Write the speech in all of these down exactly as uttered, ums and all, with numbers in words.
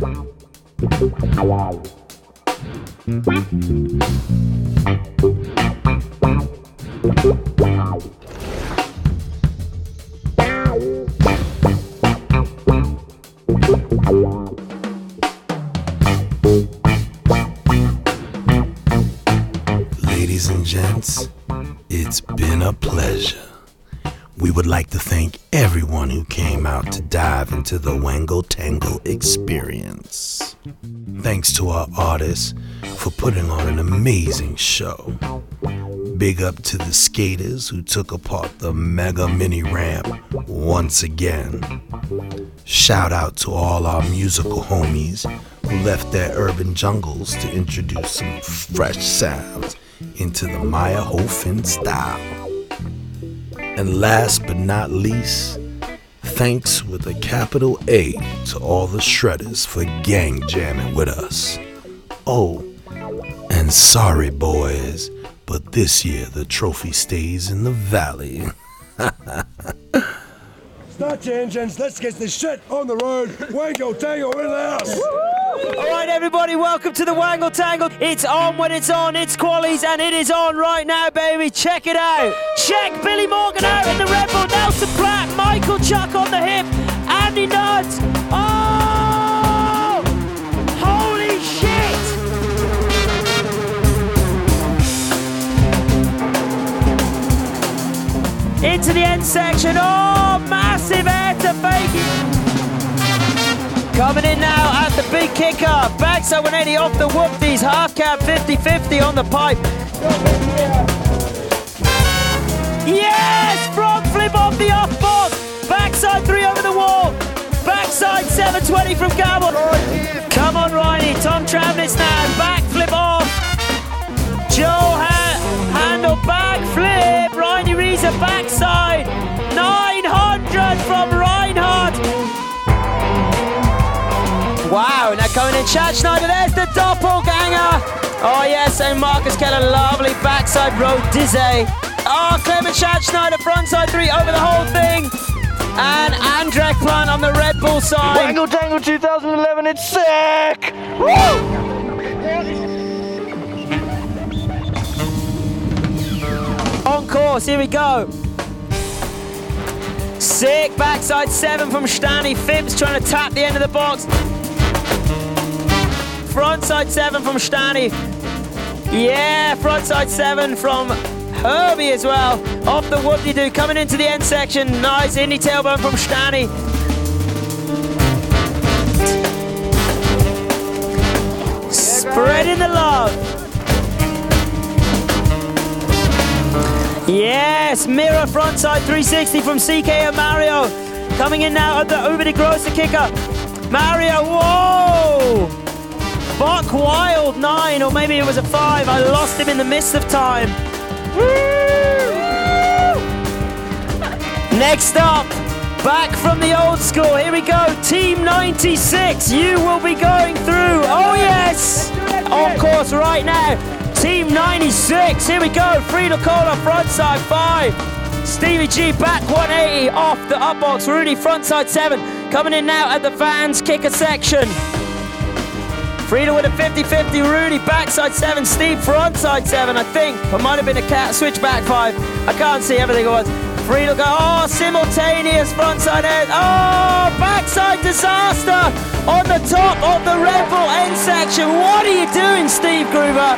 Ladies and gents, it's been a pleasure. We would like to thank everyone who came out to dive into the Wango Tango experience. Thanks to our artists for putting on an amazing show. Big up to the skaters who took apart the mega mini ramp once again. Shout out to all our musical homies who left their urban jungles to introduce some fresh sounds into the Maya Hofen style. And last but not least, thanks with a capital A to all the shredders for gang jamming with us. Oh, and sorry boys, but this year the trophy stays in the valley. Start your engines, let's get this shit on the road. Wango Tango in the house. Alright everybody, welcome to the Wango Tango. It's on when it's on, it's Qualies, and it is on right now, baby. Check it out. Check Billy Morgan out in the Red Bull, Nelson Pratt, Michael Chuck on the hip, Andy Nuds. Oh! Holy shit! Into the end section. Oh, massive air to fake. Coming in now at the big kicker. Backside one eighty off the whoopties. Half cab fifty fifty on the pipe. Yes! Front flip off the off box. Backside three over the wall. Backside seven twenty from Gamble. Come on, Riney. Tom Travnitz now. Back flip off. Joe ha- handle back flip. Riney Reza backside. nine hundred from Reinhardt. Wow, now coming in Chad Schneider, there's the doppelganger. Oh yes, and Marcus Keller, lovely backside road dizzy. Oh, Clement Chad Schneider, frontside three over the whole thing. And Andrek Plant on the Red Bull side. Wango Tango twenty eleven, it's sick! Woo! On course, here we go. Sick, backside seven from Stani. Phipps trying to tap the end of the box. Frontside seven from Stani. Yeah, frontside seven from Herbie as well. Off the whoop-de-doo, coming into the end section. Nice indie tailbone from Stani. Spreading the love. Yes, mirror frontside three sixty from C K and Mario. Coming in now at the Uber de Grosser kicker. Mario, whoa! Buck Wild nine, or maybe it was a five. I lost him in the midst of time. Woo! Next up, back from the old school. Here we go, Team ninety-six. You will be going through. Oh yes! On course right now. Team ninety-six. Here we go. Frida Cola frontside five. Stevie G back one eighty off the up box. Rudy frontside seven. Coming in now at the fans kicker section. Frida with a fifty fifty, Rudy backside seven, Steve frontside seven, I think. It might have been a cat switchback five. I can't see everything it was. Frida go, oh, simultaneous frontside end. Oh, backside disaster on the top of the Red Bull end section. What are you doing, Steve Gruber?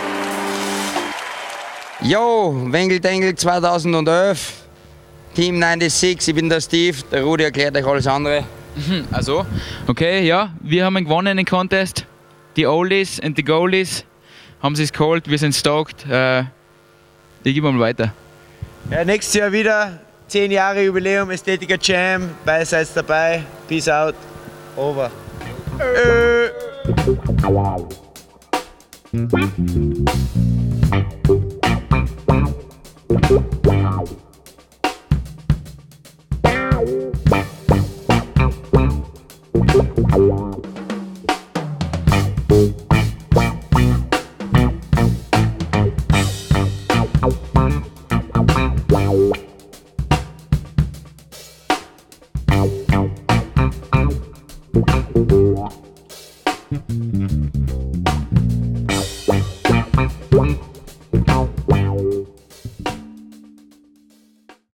Jo, Wango Tango zwanzig elf, Team sechsundneunzig, ich bin der Steve, der Rudi erklärt euch alles andere. Also, okay, ja, wir haben gewonnen den Contest. Die Oldies und die Goalies haben es geholt, wir sind stoked. Äh, ich gebe mal weiter. Ja, nächstes Jahr wieder, zehn Jahre Jubiläum, Ästhetiker Jam, beide seid dabei. Peace out. Over. Äh. Thank